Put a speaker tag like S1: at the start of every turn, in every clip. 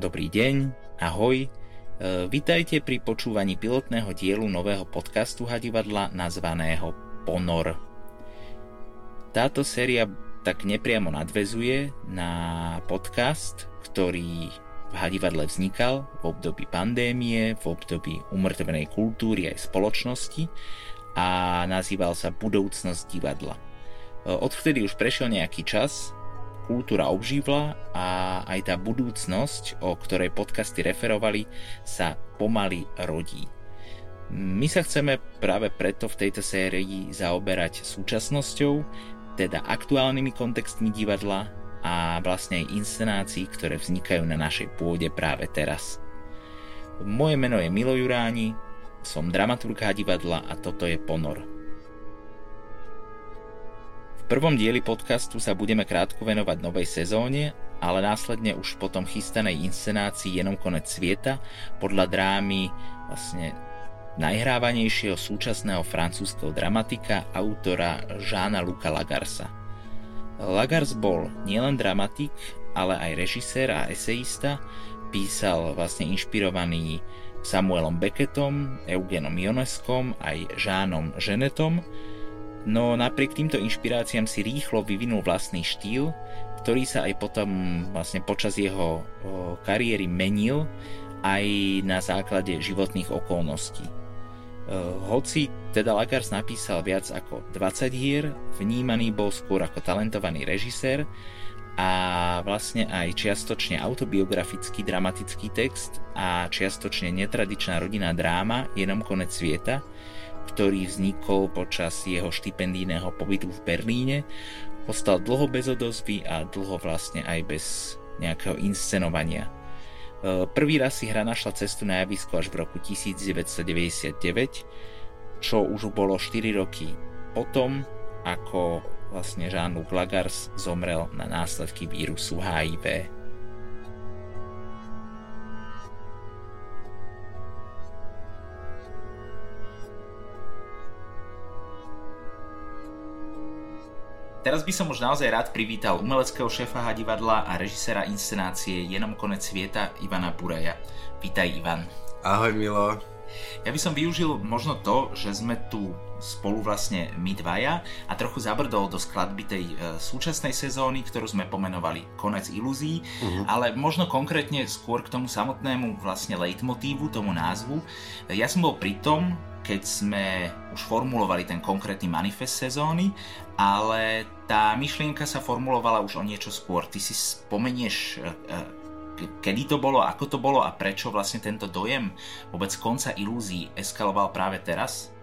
S1: Dobrý deň, ahoj. Vítajte pri počúvaní pilotného dielu nového podcastu Hadivadla nazvaného Ponor. Táto séria tak nepriamo nadväzuje na podcast, ktorý v Hadivadle vznikal v období pandémie, v období umrtvenej kultúry aj spoločnosti a nazýval sa Budúcnosť divadla. Odvtedy už prešiel nejaký čas, kultúra obživla a aj tá budúcnosť, o ktorej podcasty referovali, sa pomaly rodí. My sa chceme práve preto v tejto sérii zaoberať súčasnosťou, teda aktuálnymi kontextmi divadla a vlastne aj inscenácií, ktoré vznikajú na našej pôde práve teraz. Moje meno je Milo Juráni, som dramaturg Hadivadla a toto je Ponor. V prvom dieli podcastu sa budeme krátko venovať novej sezóne, ale následne už potom chystanej inscenácii Jenom konec sveta podľa drámy vlastne najhrávanejšieho súčasného francúzskeho dramatika autora Jeana-Luca Lagarsa. Lagars bol nielen dramatik, ale aj režisér a esejista, písal vlastne inšpirovaný Samuelom Beckettom, Eugenom Ionescom aj Jeanom Genetom, no napriek týmto inšpiráciám si rýchlo vyvinul vlastný štýl, ktorý sa aj potom vlastne počas jeho kariéry menil aj na základe životných okolností. Hoci teda Lagars napísal viac ako 20 hier, vnímaný bol skôr ako talentovaný režisér a vlastne aj čiastočne autobiografický dramatický text a čiastočne netradičná rodinná dráma Jenom konec sveta, ktorý vznikol počas jeho štipendijného pobytu v Berlíne, ostal dlho bez odozvy a dlho vlastne aj bez nejakého inscenovania. Prvý raz si hra našla cestu na javisko až v roku 1999, čo už bolo 4 roky potom, ako vlastne Jean-Luc Lagars zomrel na následky vírusu HIV. Teraz by som už naozaj rád privítal umeleckého šéfa Hadivadla a režiséra inscenácie Jenom konec sveta Ivana Buraja. Vítaj, Ivan.
S2: Ahoj, Milo.
S1: Ja by som využil možno to, že sme tu spolu vlastne my dvaja a trochu zabrdol do skladby tej súčasnej sezóny, ktorú sme pomenovali Konec ilúzií, ale možno konkrétne skôr k tomu samotnému vlastne leitmotívu, tomu názvu. Ja som bol pri tom, keď sme už formulovali ten konkrétny manifest sezóny, ale tá myšlienka sa formulovala už o niečo skôr. Ty si spomenieš, kedy to bolo, ako to bolo a prečo vlastne tento dojem vôbec konca ilúzií eskaloval práve teraz?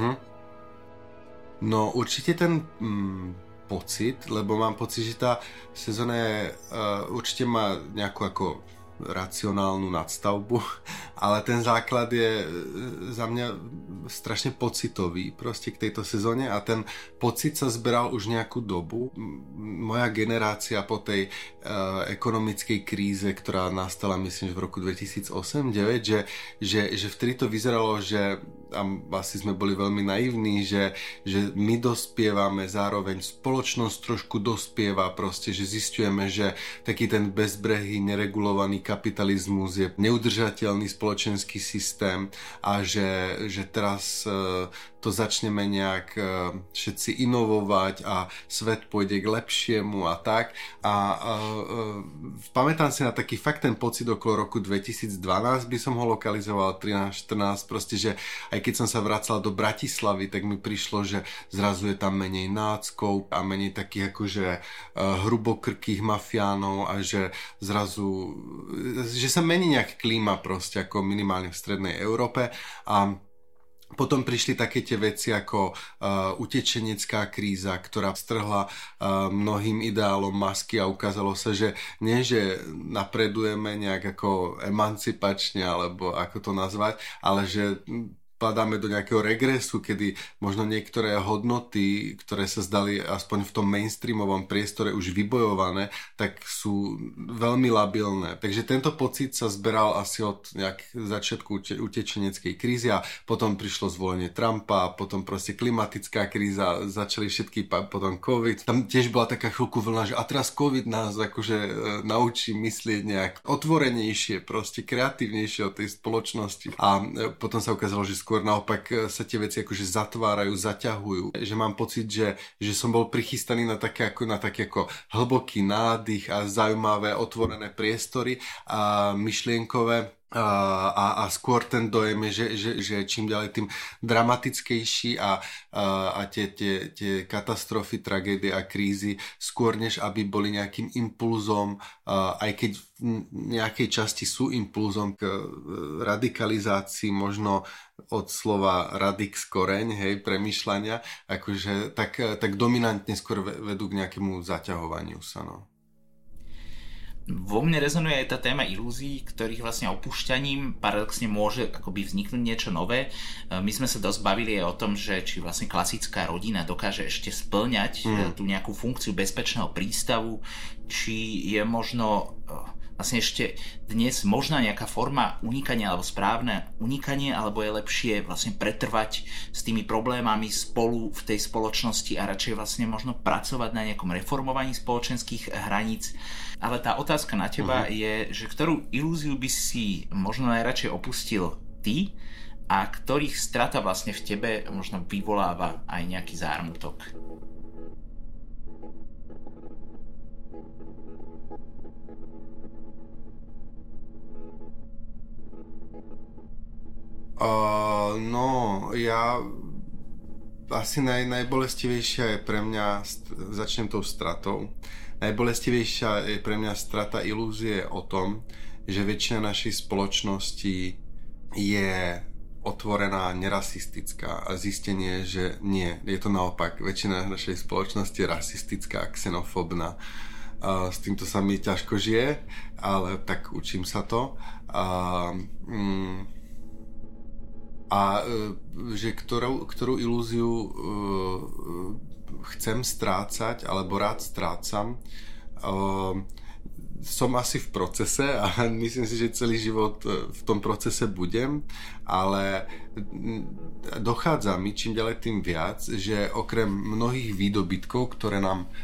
S2: No určite ten pocit, lebo mám pocit, že tá sezóna je, určite má nejakú ako racionálnu nadstavbu, ale ten základ je za mňa strašne pocitový proste k tejto sezóne a ten pocit sa zberal už nejakú dobu. Moja generácia po tej ekonomickej kríze, ktorá nastala myslím v roku 2008-2009, že vtedy to vyzeralo, že a asi sme boli veľmi naivní, že my dospievame, zároveň spoločnosť trošku dospieva proste, že zisťujeme, že taký ten bezbrehý, neregulovaný kapitalizmus je neudržateľný spoločenský systém a že teraz to začneme nejak všetci inovovať a svet pôjde k lepšiemu a tak. A pamätám si na taký fakt ten pocit okolo roku 2012 by som ho lokalizoval, 13-14, proste, že aj keď som sa vracal do Bratislavy, tak mi prišlo, že zrazu je tam menej náckov a menej takých akože hrubokrkých mafiánov a že zrazu, že sa mení nejak klíma proste ako minimálne v strednej Európe a potom prišli také tie veci ako utečenecká kríza, ktorá strhla mnohým ideálom masky a ukázalo sa, že nie, že napredujeme nejak ako emancipačne, alebo ako to nazvať, ale že padáme do nejakého regresu, kedy možno niektoré hodnoty, ktoré sa zdali aspoň v tom mainstreamovom priestore už vybojované, tak sú veľmi labilné. Takže tento pocit sa zberal asi od začiatku utečeneckej krízy a potom prišlo zvolenie Trumpa, potom proste klimatická kríza, začali všetky, potom COVID. Tam tiež bola taká chvíľku vlna, že a teraz COVID nás akože naučí myslieť nejak otvorenejšie, proste kreatívnejšie od tej spoločnosti. A potom sa ukázalo, že skôr naopak sa tie veci akože zatvárajú, zaťahujú. Že mám pocit, že som bol prichystaný na také ako hlboký nádych a zaujímavé otvorené priestory a myšlienkové. A skôr ten dojem je, že čím ďalej tým dramatickejší a tie katastrofy, tragédie a krízy skôr než aby boli nejakým impulzom, aj keď v nejakej časti sú impulzom k radikalizácii, možno od slova radix koreň, hej, premýšľania, akože tak dominantne skôr vedú k nejakému zaťahovaniu sa, no.
S1: Vo mne rezonuje aj tá téma ilúzií, ktorých vlastne opúšťaním paradoxne môže akoby vzniknúť niečo nové. My sme sa dosť bavili aj o tom, že či vlastne klasická rodina dokáže ešte spĺňať tú nejakú funkciu bezpečného prístavu, či je možno vlastne ešte dnes možná nejaká forma unikania alebo správne unikanie, alebo je lepšie vlastne pretrvať s tými problémami spolu v tej spoločnosti a radšej vlastne možno pracovať na nejakom reformovaní spoločenských hraníc. Ale tá otázka na teba je, že ktorú ilúziu by si možno najradšej opustil ty a ktorých strata vlastne v tebe možno vyvoláva aj nejaký zármutok.
S2: Ja asi najbolestivejšia je pre mňa, začnem tou stratou, najbolestivejšia je pre mňa strata ilúzie o tom, že väčšina našej spoločnosti je otvorená, nerasistická a zistenie, že nie, je to naopak, väčšina našej spoločnosti je rasistická a xenofóbna. S týmto sa mi ťažko žije, ale tak učím sa to. Že ktorú ilúziu chcem strácať alebo rád strácam, som asi v procese a myslím si, že celý život v tom procese budem, ale dochádza mi čím ďalej tým viac, že okrem mnohých výdobytkov, ktoré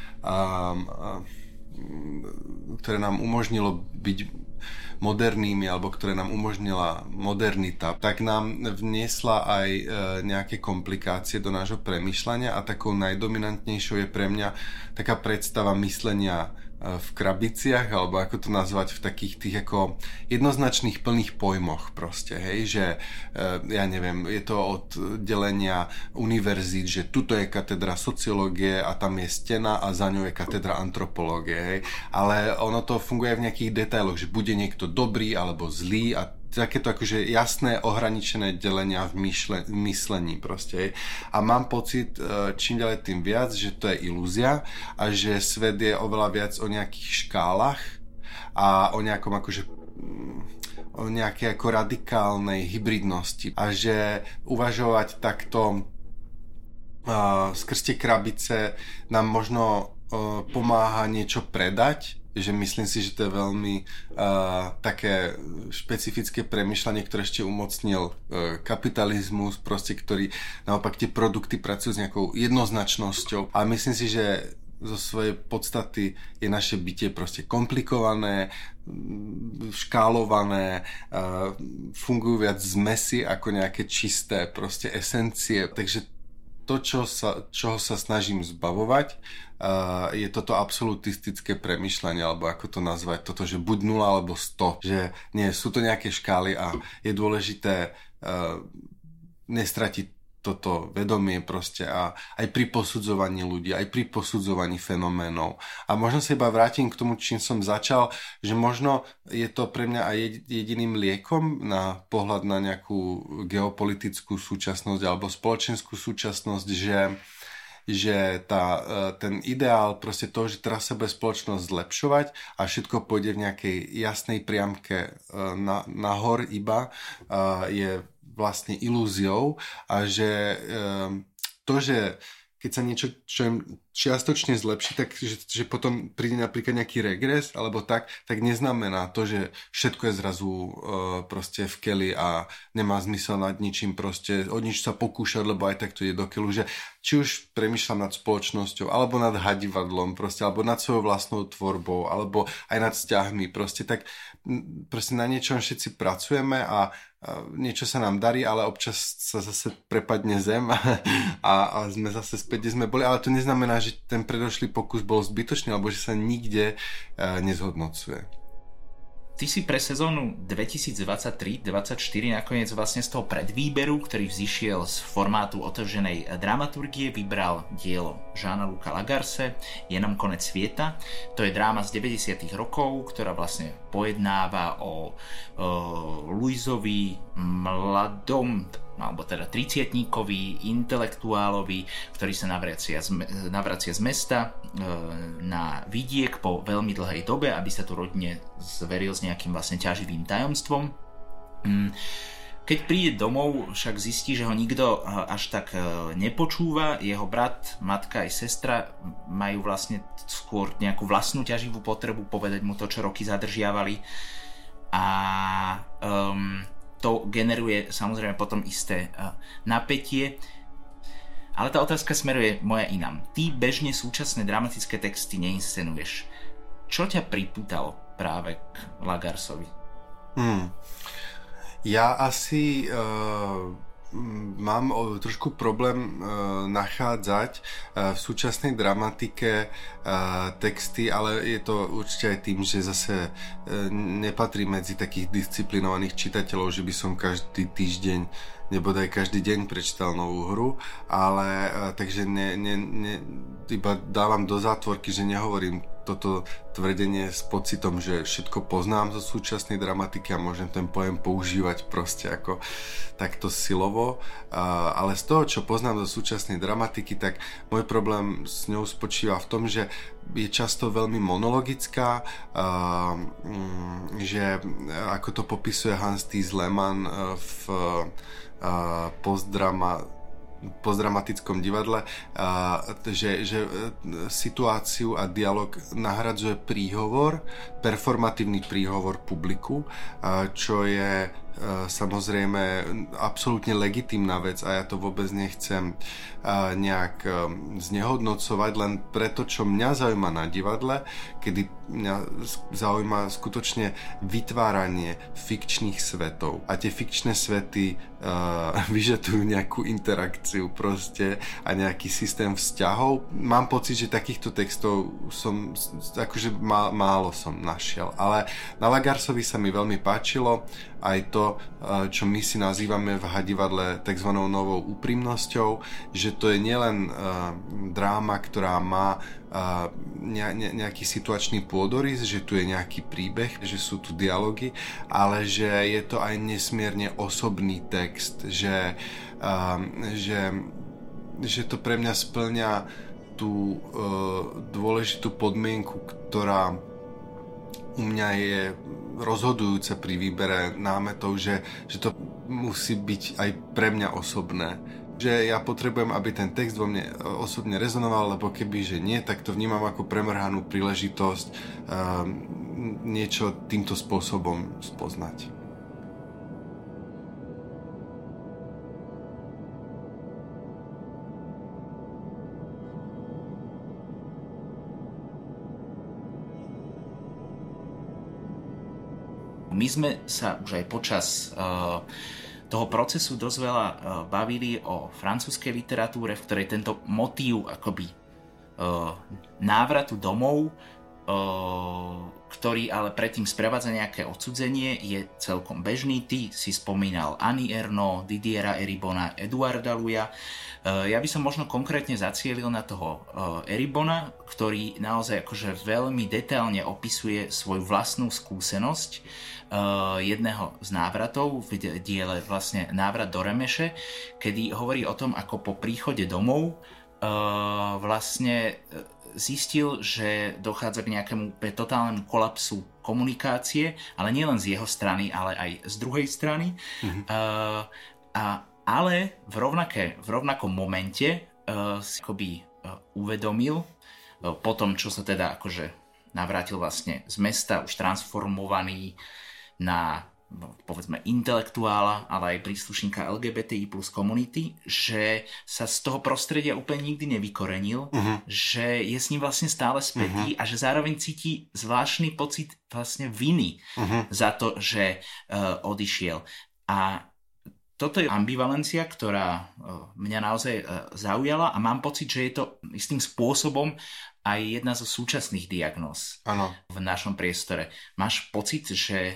S2: nám umožnilo byť modernými, alebo ktoré nám umožnila modernita, tak nám vniesla aj nejaké komplikácie do nášho premýšľania a takou najdominantnejšou je pre mňa taká predstava myslenia v krabiciach, alebo ako to nazvať, v takých tých ako jednoznačných plných pojmoch proste, hej, že ja neviem, je to od delenia univerzít, že tuto je katedra sociológie a tam je stena a za ňou je katedra antropológie, hej, ale ono to funguje v nejakých detailoch, že bude niekto dobrý alebo zlý a takéto akože jasné ohraničené delenia v myslení proste. Hej. A mám pocit čím ďalej tým viac, že to je ilúzia a že svet je oveľa viac o nejakých škálach a o nejakom akože o nejakej ako radikálnej hybridnosti a že uvažovať takto skrz tie krabice nám možno pomáha niečo predať, že myslím si, že to je veľmi také špecifické premýšľanie, ktoré ešte umocnil kapitalizmus, proste, ktorý naopak tie produkty pracujú s nejakou jednoznačnosťou a myslím si, že zo svojej podstaty je naše bytie proste komplikované, škálované, fungujú viac zmesi ako nejaké čisté proste esencie, takže to, čoho sa snažím zbavovať, je toto absolutistické premýšľanie, alebo ako to nazvať, toto, že buď 0 alebo 100, že nie, sú to nejaké škály a je dôležité nestratiť toto vedomie proste a aj pri posudzovaní ľudí, aj pri posudzovaní fenoménov. A možno sa iba vrátim k tomu, čím som začal, že možno je to pre mňa aj jediným liekom na pohľad na nejakú geopolitickú súčasnosť alebo spoločenskú súčasnosť, že ten ideál proste toho, že teraz sa bude spoločnosť zlepšovať a všetko pôjde v nejakej jasnej priamke nahor iba, je vlastne ilúziou a že to, že keď sa niečo čo čiastočne zlepší, tak že potom príde napríklad nejaký regres alebo tak neznamená to, že všetko je zrazu proste v keli a nemá zmysel nad ničím proste o nič sa pokúšať, lebo aj tak to ide do keľu, že či už premýšľam nad spoločnosťou, alebo nad hadivadlom proste, alebo nad svojou vlastnou tvorbou, alebo aj nad vzťahmi proste, tak proste na niečom všetci pracujeme a niečo sa nám darí, ale občas sa zase prepadne zem a sme zase späť, kde sme boli, ale to neznamená, že ten predošlý pokus bol zbytočný, alebo že sa nikde nezhodnocuje.
S1: Ty si pre sezónu 2023-2024 nakoniec vlastne z toho predvýberu, ktorý vzýšiel z formátu otevřenej dramaturgie, vybral dielo Jeana-Luca Lagarse Je nám konec svieta. To je dráma z 90. rokov, ktorá vlastne pojednáva o Louisovi mladom, alebo teda 30-tníkovi, intelektuálovi, ktorý sa navracia z mesta na vidiek po veľmi dlhej dobe, aby sa tu rodine zveril s nejakým vlastne ťaživým tajomstvom. Keď príde domov, však zistí, že ho nikto až tak nepočúva. Jeho brat, matka aj sestra majú vlastne skôr nejakú vlastnú ťaživú potrebu povedať mu to, čo roky zadržiavali. A to generuje samozrejme potom isté napätie. Ale tá otázka smeruje moja inám. Ty bežne súčasné dramatické texty neinscenuješ. Čo ťa pripútalo práve k Lagarsovi?
S2: Ja asi mám trošku problém nachádzať v súčasnej dramatike texty, ale je to určite aj tým, že zase nepatrí medzi takých disciplinovaných čitateľov, že by som každý týždeň nebodaj každý deň prečítal novú hru, ale takže iba dávam do zátvorky, že nehovorím toto tvrdenie s pocitom, že všetko poznám zo súčasnej dramatiky a môžem ten pojem používať proste ako takto silovo, ale z toho, čo poznám zo súčasnej dramatiky, tak môj problém s ňou spočíva v tom, že je často veľmi monologická, že ako to popisuje Hans-Thies Lehmann v postdramatickom divadle, že situáciu a dialog nahradzuje príhovor, performatívny príhovor publiku, čo je samozrejme absolútne legitímna vec a ja to vôbec nechcem nejak znehodnocovať, len preto, čo mňa zaujíma na divadle, kedy mňa zaujíma skutočne vytváranie fikčných svetov a tie fikčné svety vyžadujú nejakú interakciu proste a nejaký systém vzťahov. Mám pocit, že takýchto textov som akože málo som našiel, ale na Lagarsovi sa mi veľmi páčilo aj to, čo my si nazývame v hadivadle tzv. Novou úprimnosťou, že to je nielen dráma, ktorá má nejaký situačný pôdorys, že tu je nejaký príbeh, že sú tu dialógy, ale že je to aj nesmierne osobný text, že to pre mňa splňa tú dôležitú podmienku, ktorá u mňa je rozhodujúce pri výbere námetov, že to musí byť aj pre mňa osobné. Že ja potrebujem, aby ten text vo mne osobne rezonoval, lebo keby, že nie, tak to vnímam ako premrhanú príležitosť niečo týmto spôsobom spoznať.
S1: My sme sa už aj počas toho procesu dosť veľa bavili o francúzskej literatúre, v ktorej tento motív akoby návratu domov, ktorý ale predtým sprevádza nejaké odcudzenie, je celkom bežný. Ty si spomínal Annie Ernaux, Didiera Eribona, Eduarda Louisa. Ja by som možno konkrétne zacielil na toho Eribona, ktorý naozaj akože veľmi detailne opisuje svoju vlastnú skúsenosť jedného z návratov v diele vlastne Návrat do Remeše, kedy hovorí o tom, ako po príchode domov vlastne zistil, že dochádza k nejakému totálnemu kolapsu komunikácie, ale nielen z jeho strany, ale aj z druhej strany. Ale v rovnakom momente si akoby uvedomil, po tom, čo sa teda akože navrátil vlastne z mesta, už transformovaný na povedzme intelektuála, ale aj príslušníka LGBTI plus komunity, že sa z toho prostredia úplne nikdy nevykorenil, že je s ním vlastne stále spätý a že zároveň cíti zvláštny pocit vlastne viny za to, že odišiel. A toto je ambivalencia, ktorá mňa naozaj zaujala a mám pocit, že je to istým spôsobom aj jedna zo súčasných diagnóz v našom priestore. Máš pocit, že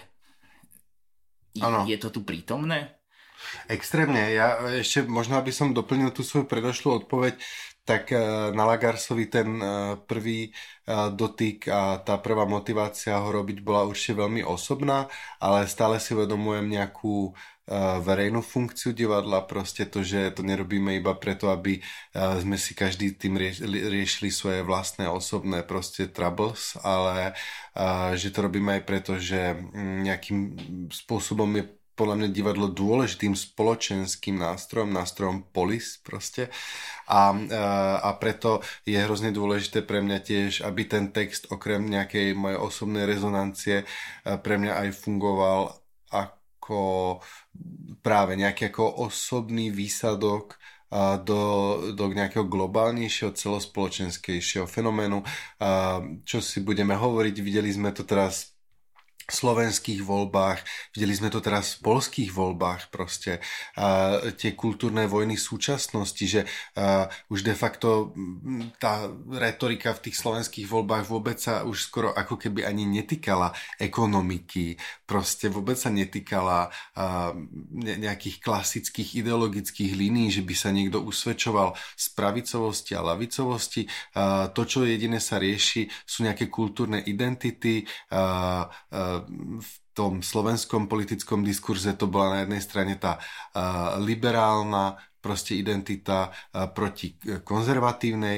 S1: je to tu prítomné?
S2: Extrémne. Ja ešte možno, aby som doplnil tú svoju predošlú odpoveď, tak na Lagarsovi ten prvý dotyk a tá prvá motivácia ho robiť bola určite veľmi osobná, ale stále si uvedomujem nejakú verejnú funkciu divadla, proste to, že to nerobíme iba preto, aby sme si každý tým riešili svoje vlastné osobné proste troubles, ale že to robíme aj preto, že nejakým spôsobom je podľa mňa divadlo dôležitým spoločenským nástrojom polis proste a preto je hrozne dôležité pre mňa tiež, aby ten text okrem nejakej mojej osobnej rezonancie pre mňa aj fungoval ako práve nejaký ako osobný výsadok do nejakého globálnejšieho, celospoločenskejšieho fenoménu. Čo si budeme hovoriť, videli sme to teraz v slovenských voľbách, videli sme to teraz v poľských voľbách proste. Tie kultúrne vojny súčasnosti, že už de facto tá retorika v tých slovenských voľbách vôbec sa už skoro ako keby ani netýkala ekonomiky, proste vôbec sa netýkala nejakých klasických ideologických línií, že by sa niekto usvedčoval z pravicovosti a lavicovosti. To, čo jediné sa rieši, sú nejaké kultúrne identity, v tom slovenskom politickom diskurze to bola na jednej strane tá liberálna proste identita proti konzervatívnej.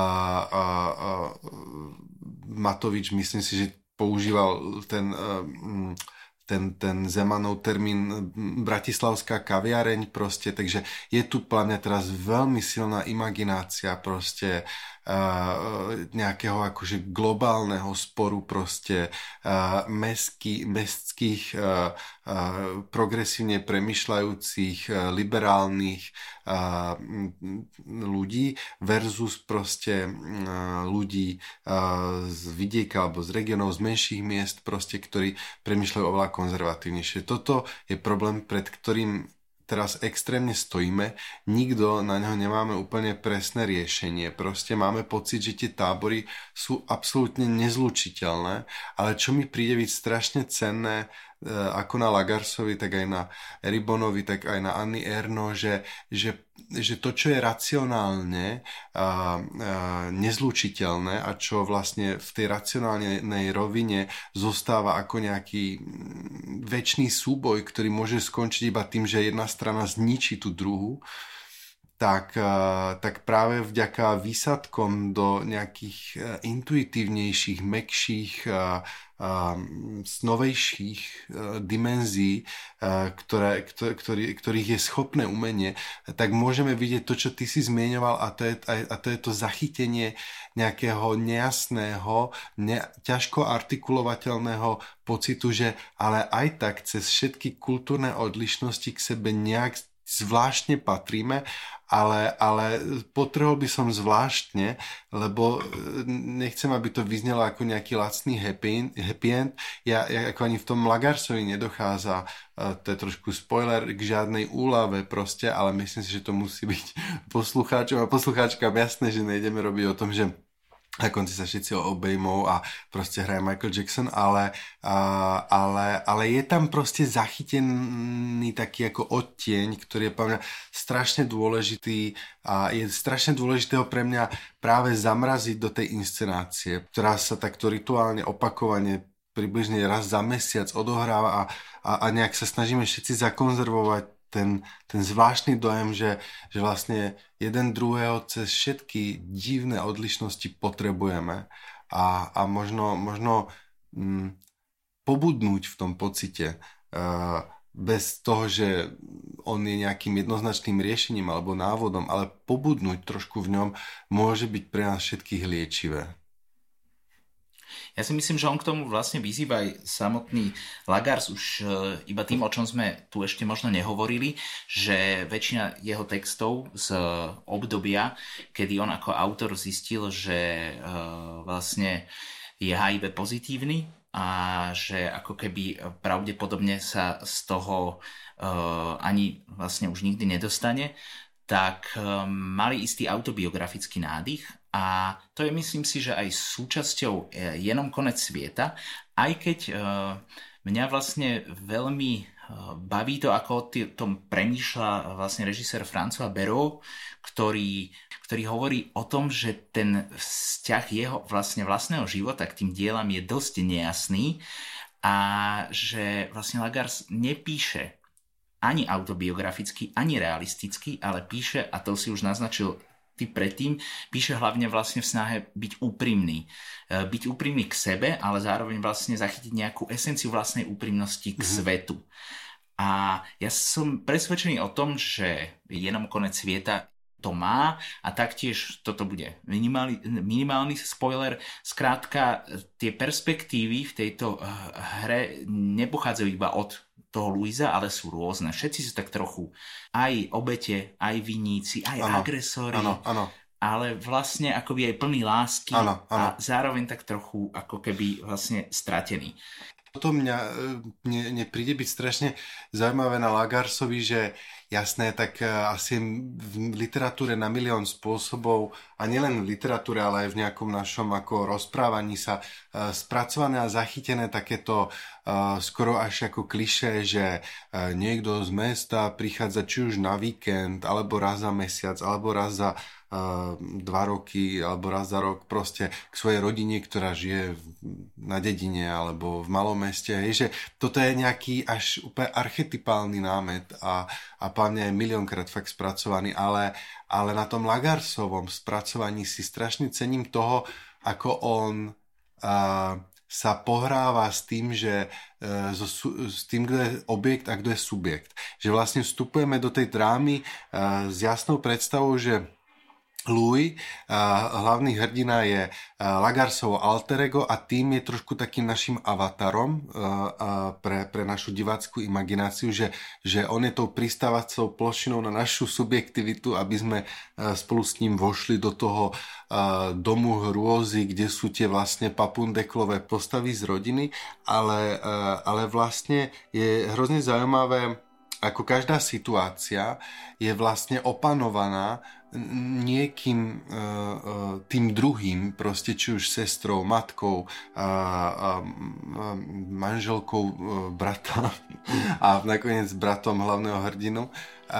S2: Matovič, myslím si, že používal ten Zemanov termín bratislavská kaviareň proste, takže je tu podľa mňa teraz veľmi silná imaginácia proste nejakého akože globálneho sporu proste mestských progresívne premýšľajúcich liberálnych ľudí versus proste ľudí z vidieka alebo z regionov, z menších miest proste, ktorí premýšľajú oveľa konzervatívnejšie. Toto je problém, pred ktorým teraz extrémne stojíme, nikto na ňo nemáme úplne presné riešenie. Proste máme pocit, že tie tábory sú absolútne nezlučiteľné, ale čo mi príde byť strašne cenné, ako na Lagarsovi, tak aj na Eribonovi, tak aj na Anny Ernaux, že to, čo je racionálne nezlučiteľné a čo vlastne v tej racionálnej rovine zostáva ako nejaký večný súboj, ktorý môže skončiť iba tým, že jedna strana zničí tú druhú, tak práve vďaka výsadkom do nejakých intuitívnejších, mäkších, novejších dimenzií, ktorých je schopné umenie, tak môžeme vidieť to, čo ty si zmieňoval, a to je to zachytenie nejakého nejasného, ťažko artikulovateľného pocitu, že ale aj tak cez všetky kultúrne odlišnosti k sebe nejak zvláštne patríme, ale potreboval by som zvláštne, lebo nechcem, aby to vyznelo ako nejaký lacný happy end. Ja ako ani v tom Lagarsovi nedochádza, to je trošku spoiler, k žiadnej úlave proste, ale myslím si, že to musí byť poslucháčom a poslucháčkám jasné, že nejdeme robiť o tom, že na konci sa všetci obejmou a proste hraje Michael Jackson, ale je tam proste zachytený taký ako odtieň, ktorý je pre mňa strašne dôležitý a je strašne dôležité ho pre mňa práve zamraziť do tej inscenácie, ktorá sa takto rituálne opakovane približne raz za mesiac odohráva a nejak sa snažíme všetci zakonzervovať ten zvláštny dojem, že vlastne jeden druhého cez všetky divné odlišnosti potrebujeme a možno pobudnúť v tom pocite bez toho, že on je nejakým jednoznačným riešením alebo návodom, ale pobudnúť trošku v ňom môže byť pre nás všetkých liečivé.
S1: Ja si myslím, že on k tomu vlastne vyzýva aj samotný Lagars už iba tým, o čom sme tu ešte možno nehovorili, že väčšina jeho textov z obdobia, kedy on ako autor zistil, že vlastne je HIV pozitívny a že ako keby pravdepodobne sa z toho ani vlastne už nikdy nedostane, tak mali istý autobiografický nádych a to je, myslím si, že aj súčasťou Jenom konec sveta, aj keď mňa vlastne veľmi baví to, ako o tom premýšľa vlastne režisér François Béraud, ktorý hovorí o tom, že ten vzťah jeho vlastného života k tým dielam je dosť nejasný a že vlastne Lagars nepíše ani autobiograficky, ani realisticky, ale píše, a to si už naznačil ty predtým, píše hlavne vlastne v snahe byť úprimný. Byť úprimný k sebe, ale zároveň vlastne zachytiť nejakú esenciu vlastnej úprimnosti k svetu. A ja som presvedčený o tom, že Jenom konec sveta to má a taktiež toto bude minimálny spoiler. Skrátka, tie perspektívy v tejto hre nepochádzajú iba od toho Louisa, ale sú rôzne. Všetci sú tak trochu aj obete, aj viníci, aj agresori.
S2: Áno.
S1: Ale vlastne akoby aj plný lásky
S2: áno.
S1: A zároveň tak trochu ako keby vlastne stratený.
S2: Toto mne príde byť strašne zaujímavé na Lagarsovi, že jasné, tak asi v literatúre na milión spôsobov, a nielen v literatúre, ale aj v nejakom našom ako rozprávaní sa spracované a zachytené takéto skoro až ako klišé, že niekto z mesta prichádza či už na víkend, alebo raz za mesiac, alebo raz za 2 roky alebo raz za rok proste k svojej rodine, ktorá žije na dedine alebo v malom meste. Že toto je nejaký až úplne archetypálny námet a pláne aj miliónkrát fakt spracovaný, ale na tom Lagarsovom spracovaní si strašne cením toho, ako on sa pohráva s tým, že s tým, kto je objekt a kto je subjekt. Že vlastne vstupujeme do tej drámy s jasnou predstavou, že Louis, hlavný hrdina, je Lagarsovo alter ego a tým je trošku takým našim avatarom pre našu divácku imagináciu, že on je tou pristávacou plošinou na našu subjektivitu, aby sme spolu s ním vošli do toho domu hrôzy, kde sú tie vlastne papundeklové postavy z rodiny, ale vlastne je hrozne zaujímavé, ako každá situácia je vlastne opanovaná niekým tým druhým, proste či už sestrou, matkou, manželkou brata a nakoniec bratom hlavného hrdinu.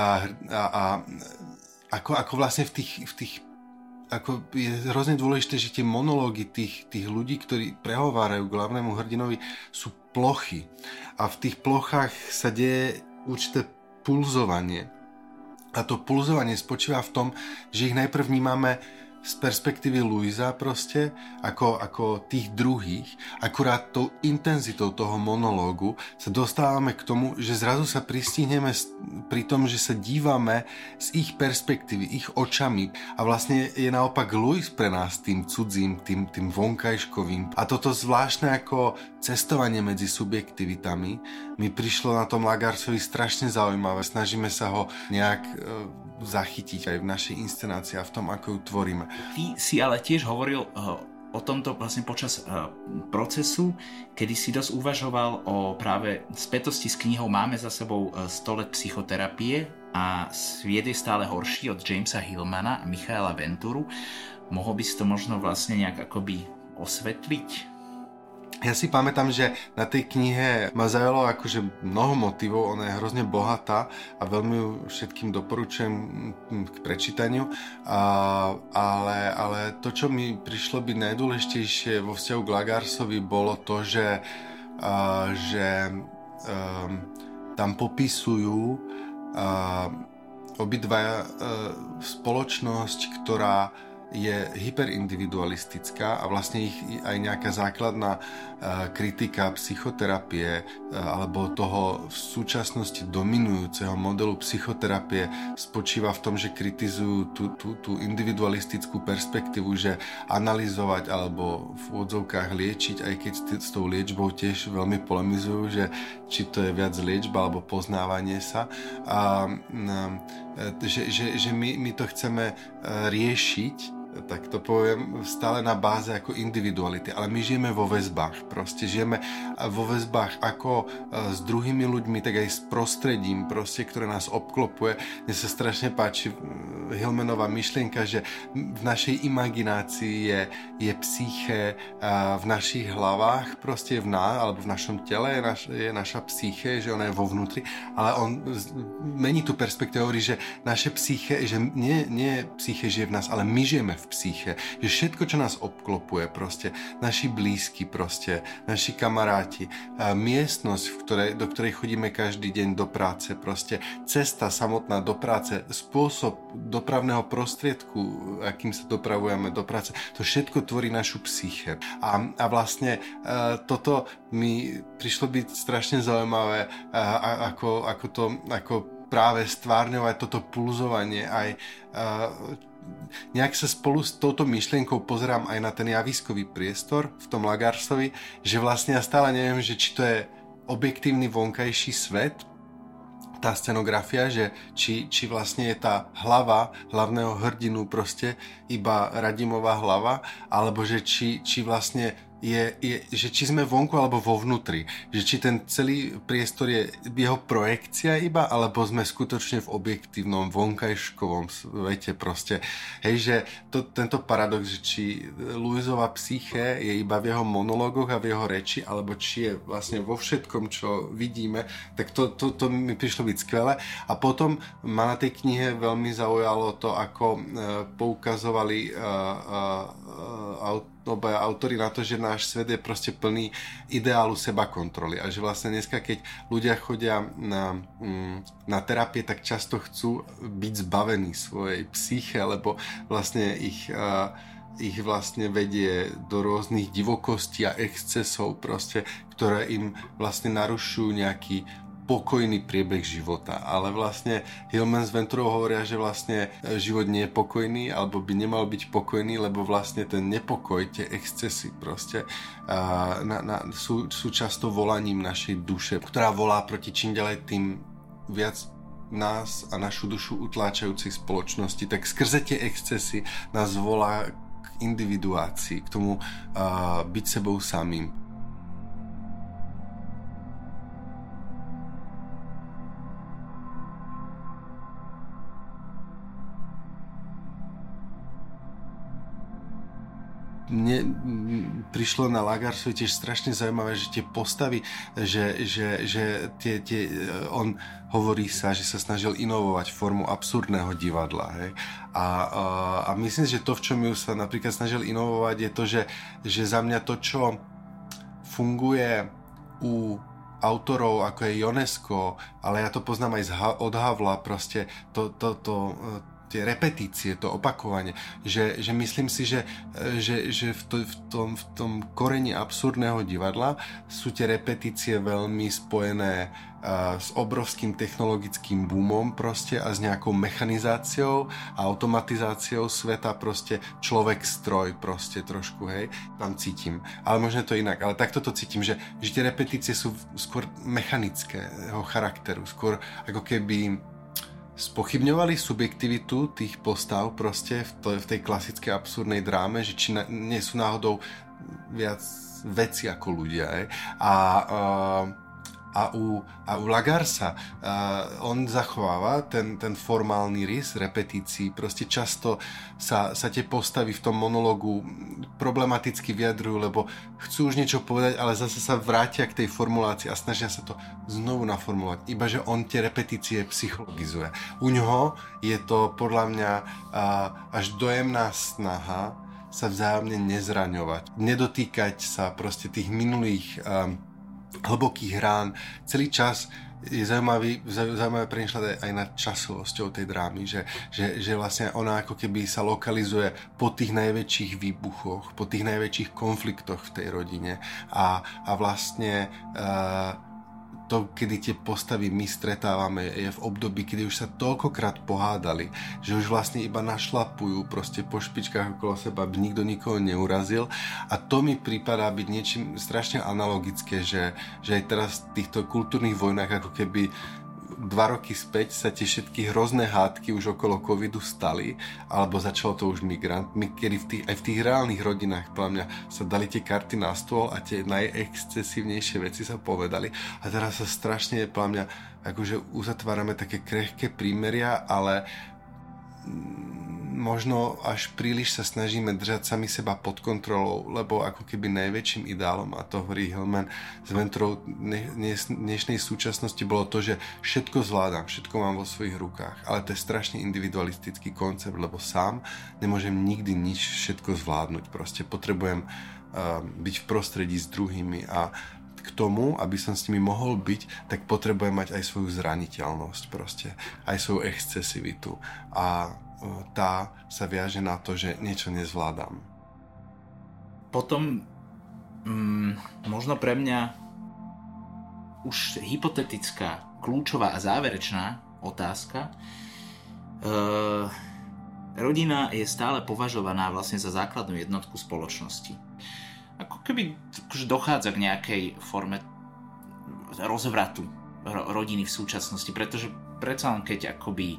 S2: Ako vlastne v tých ako je hrozne dôležité, že tie monológy tých ľudí, ktorí prehovárajú k hlavnému hrdinovi, sú plochy. A v tých plochách sa deje určité pulzovanie. A to pulzovanie spočíva v tom, že ich najprv vnímame z perspektívy Louisa proste, ako tých druhých. Akurát tou intenzitou toho monológu sa dostávame k tomu, že zrazu sa pristihneme pri tom, že sa dívame z ich perspektívy, ich očami. A vlastne je naopak Louis pre nás tým cudzím, tým vonkajškovým. A toto zvláštne ako cestovanie medzi subjektivitami mi prišlo na tom Lagarsovi strašne zaujímavé. Snažíme sa ho nejak zachytiť aj v našej inscenácii a v tom, ako ju tvoríme.
S1: Ty si ale tiež hovoril o tomto vlastne počas procesu, kedy si dosť uvažoval o práve spätosti s knihou Máme za sebou 100 let psychoterapie a Sviet je stále horší od Jamesa Hillmana a Michaela Venturu. Mohol by si to možno vlastne nejak akoby osvetliť?
S2: Ja si pamätám, že na tej knihe ma zaujalo akože mnoho motivov, ona je hrozne bohatá a veľmi ju všetkým doporučujem k prečítaniu, ale to, čo mi prišlo byť najdôležitejšie vo vzťahu k Lagarsovi, bolo to, že tam popisujú obidvaja spoločnosť, ktorá je hyperindividualistická a vlastne ich aj nejaká základná kritika psychoterapie alebo toho v súčasnosti dominujúceho modelu psychoterapie spočíva v tom, že kritizujú tú individualistickú perspektívu, že analyzovať alebo v odzovkách liečiť, aj keď s tou liečbou tiež veľmi polemizujú, že či to je viac liečba alebo poznávanie sa. Že my to chceme riešiť, tak to poviem, stále na báze ako individuality, ale my žijeme vo väzbách, proste žijeme vo väzbách ako s druhými ľuďmi, tak aj s prostredím, proste, ktoré nás obklopuje. Mne sa strašne páči Hillmanová myšlienka, že v našej imaginácii je psyché, v našich hlavách, proste alebo v našom tele je naša psyché, že ona je vo vnútri, ale on mení tú perspektívu, hovorí, že naše psyché, že nie psyché žije v nás, ale my žijeme v psyche, že všetko, čo nás obklopuje, proste naši blízky, proste naši kamaráti, miestnosť, do ktorej chodíme každý deň do práce, proste cesta samotná do práce, spôsob dopravného prostriedku, akým sa dopravujeme do práce, to všetko tvorí našu psyche. A vlastne toto mi prišlo byť strašne zaujímavé, ako práve stvárňovať toto pulzovanie aj nejak sa spolu s touto myšlienkou pozerám aj na ten javiskový priestor v tom Lagarsovi, že vlastne ja stále neviem, že či to je objektívny vonkajší svet, tá scenografia, že či vlastne je tá hlava hlavného hrdinu proste iba Radimová hlava, alebo že či vlastne že či sme vonku alebo vo vnútri, že či ten celý priestor je jeho projekcia iba, alebo sme skutočne v objektívnom vonkajškovom svete proste. Hej, že tento paradox, že či Louisova psyché je iba v jeho monológoch a v jeho reči, alebo či je vlastne vo všetkom, čo vidíme, tak to mi prišlo byť skvelé. A potom ma na tej knihe veľmi zaujalo to, ako poukazovali obaja autori na to, že náš svet je proste plný ideálu seba kontroly a že vlastne dneska, keď ľudia chodia na terapie, tak často chcú byť zbavení svojej psyche, lebo vlastne ich vlastne vedie do rôznych divokostí a excesov proste, ktoré im vlastne narušujú nejaký pokojný priebeh života, ale vlastne Hillman s Venturou hovoria, že vlastne život nie je pokojný, alebo by nemal byť pokojný, lebo vlastne ten nepokoj, tie excesy proste sú často volaním našej duše, ktorá volá proti čím ďalej tým viac nás a našu dušu utláčajúcej spoločnosti, tak skrze tie excesy nás volá k individuácii, k tomu byť sebou samým. Mne prišlo na Lagarsovi tiež strašne zaujímavé, že tie postavy, že on hovorí sa, že sa snažil inovovať formu absurdného divadla. Hej? A myslím, že to, v čom ju sa napríklad snažil inovovať, je to, že za mňa to, čo funguje u autorov, ako je Ionesco, ale ja to poznám aj od Havla, proste tie repetície, to opakovanie, že myslím si, že v tom koreni absurdného divadla sú tie repetície veľmi spojené s obrovským technologickým boomom proste a s nejakou mechanizáciou a automatizáciou sveta, proste človek-stroj proste trošku, hej, tam cítim. Ale možno to inak, ale takto to cítim, že tie repetície sú skôr mechanického charakteru, skôr ako keby spochybňovali subjektivitu tých postav proste v tej klasickej absurdnej dráme, že či nie sú náhodou viac veci ako ľudia. A u Lagarsa on zachováva ten formálny rys repetícií. Proste často sa tie postavy v tom monológu problematicky vyjadrujú, lebo chcú už niečo povedať, ale zase sa vrátia k tej formulácii a snažia sa to znovu naformulovať. Iba, že on tie repetície psychologizuje. U ňoho je to podľa mňa až dojemná snaha sa vzájomne nezraňovať. Nedotýkať sa proste tých minulých hlbokých rán. Celý čas je zaujímavé premýšľať aj nad časovosťou tej drámy, že vlastne ona ako keby sa lokalizuje po tých najväčších výbuchoch, po tých najväčších konfliktoch v tej rodine a vlastne to, kedy tie postavy my stretávame, je v období, kedy už sa toľkokrát pohádali, že už vlastne iba našlapujú proste po špičkách okolo seba, aby nikto nikoho neurazil. A to mi prípadá byť niečím strašne analogické, že aj teraz v týchto kultúrnych vojnách ako keby 2 roky späť sa tie všetky hrozné hádky už okolo covidu stali, alebo začalo to už migrantmi, kedy aj v tých reálnych rodinách podľa mňa sa dali tie karty na stôl a tie najexcesívnejšie veci sa povedali. A teraz sa strašne, podľa mňa, akože uzatvárame také krehké prímeria, ale možno až príliš sa snažíme držať sami seba pod kontrolou, lebo ako keby najväčším ideálom, a to hovorí Hillman s Ventrou dnešnej súčasnosti, bolo to, že všetko zvládam, všetko mám vo svojich rukách, ale to je strašne individualistický koncept, lebo sám nemôžem nikdy nič všetko zvládnuť, proste potrebujem byť v prostredí s druhými a k tomu, aby som s nimi mohol byť, tak potrebujem mať aj svoju zraniteľnosť proste, aj svoju excesivitu a tá sa viaže na to, že niečo nezvládam.
S1: Potom možno pre mňa už hypotetická, kľúčová a záverečná otázka. Rodina je stále považovaná vlastne za základnú jednotku spoločnosti. Ako keby dochádza k nejakej forme rozvratu rodiny v súčasnosti, pretože predsa len keď akoby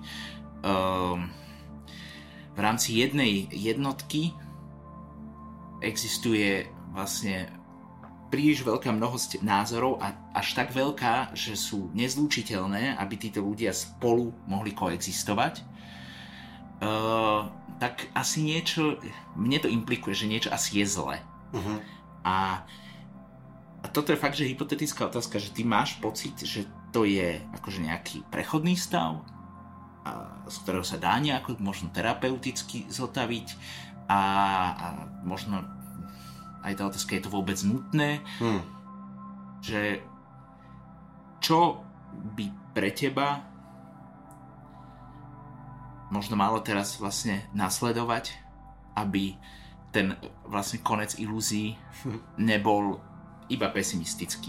S1: v rámci jednej jednotky existuje vlastne príliš veľká mnohosť názorov a až tak veľká, že sú nezlúčiteľné, aby títo ľudia spolu mohli koexistovať, tak asi niečo, mne to implikuje, že niečo asi je zle. Uh-huh. A toto je fakt, že hypotetická otázka, že ty máš pocit, že to je akože nejaký prechodný stav, z ktorého sa dá nejako možno terapeuticky zotaviť a možno aj tá otázka, je to vôbec nutné, že čo by pre teba možno malo teraz vlastne nasledovať, aby ten vlastne konec ilúzií nebol iba pesimistický.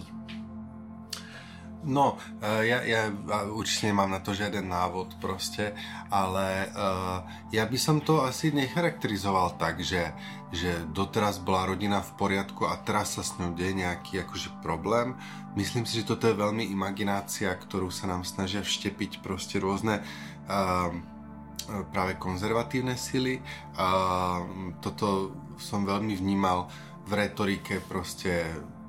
S2: No, ja určite nemám na to žiaden návod proste, ale ja by som to asi necharakterizoval tak, že doteraz bola rodina v poriadku a teraz sa s ňou deje nejaký akože problém. Myslím si, že toto je veľmi imaginácia, ktorú sa nám snažia vštepiť proste rôzne práve konzervatívne sily. Toto som veľmi vnímal v retorike proste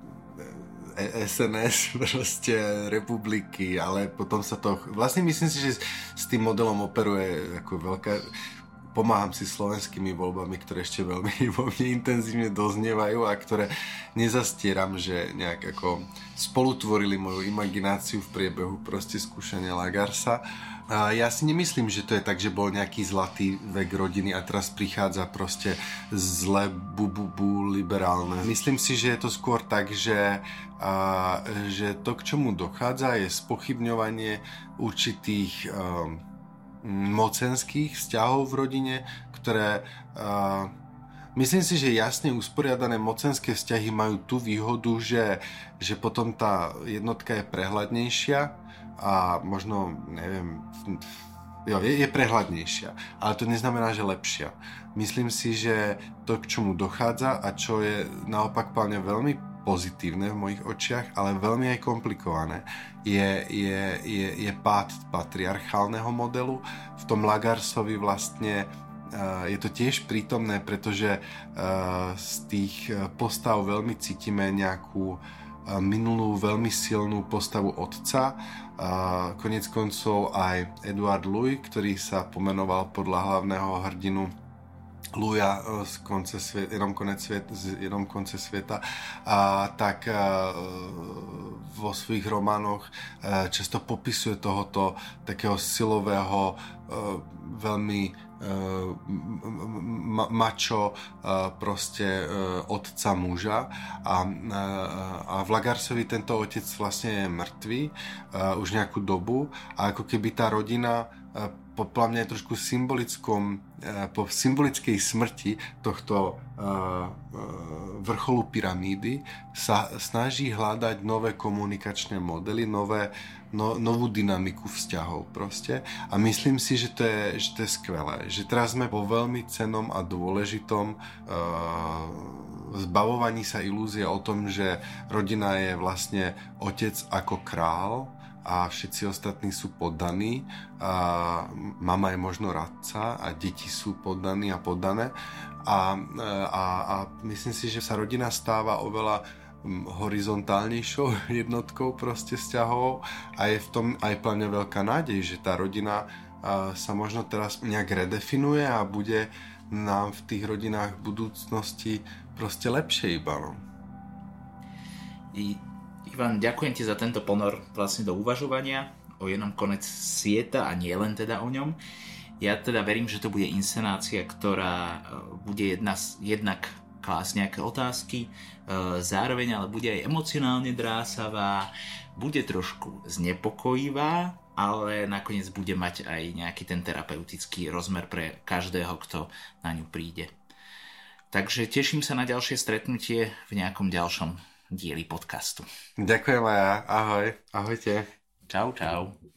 S2: SNS, proste republiky, ale potom sa to... Vlastne myslím si, že s tým modelom operuje ako veľká... Pomáham si slovenskými voľbami, ktoré ešte veľmi intenzívne doznievajú a ktoré nezastieram, že nejak ako spolutvorili moju imagináciu v priebehu proste skúšania Lagarsa. A ja si nemyslím, že to je tak, že bol nejaký zlatý vek rodiny a teraz prichádza proste zle liberálne. Myslím si, že je to skôr tak, že to, k čomu dochádza, je spochybňovanie určitých mocenských vzťahov v rodine, ktoré myslím si, že jasne usporiadané mocenské vzťahy majú tú výhodu, že potom tá jednotka je prehľadnejšia a možno, neviem, je prehľadnejšia, ale to neznamená, že lepšia. Myslím si, že to, k čomu dochádza a čo je naopak plne veľmi pozitívne v mojich očiach, ale veľmi aj komplikované, je pád patriarchálneho modelu. V tom Lagarsovi vlastne je to tiež prítomné, pretože z tých postav veľmi cítime nejakú minulú veľmi silnú postavu otca. Koniec koncov aj Edward Louis, ktorý sa pomenoval podľa hlavného hrdinu Louisa z Jenom konce sveta, tak vo svojich románoch často popisuje tohoto takého silového, veľmi mačo proste otca muža a v Lagarsovi tento otec vlastne je mŕtvý už nejakú dobu a ako keby tá rodina podľa mňa trošku po symbolickej smrti tohto vrcholu pyramídy sa snaží hľadať nové komunikačné modely, novú dynamiku vzťahov proste. A myslím si, že to je skvelé. Že teraz sme po veľmi cennom a dôležitom zbavovaní sa ilúzie o tom, že rodina je vlastne otec ako král a všetci ostatní sú poddaní a mama je možno radca a deti sú poddaní a poddané a myslím si, že sa rodina stáva oveľa horizontálnejšou jednotkou proste vzťahov a je v tom aj plne veľká nádej, že tá rodina sa možno teraz nejak redefinuje a bude nám v tých rodinách v budúcnosti proste lepšie iba. No.
S1: Ivan, ďakujem ti za tento ponor vlastne do uvažovania o jednom konec sveta a nie len teda o ňom. Ja teda verím, že to bude inscenácia, ktorá bude jednak klásť nejaké otázky, zároveň ale bude aj emocionálne drásavá, bude trošku znepokojivá, ale nakoniec bude mať aj nejaký ten terapeutický rozmer pre každého, kto na ňu príde. Takže teším sa na ďalšie stretnutie v nejakom ďalšom dieli podcastu.
S2: Ďakujem aj ja. Ahoj. Ahojte.
S1: Čau, čau.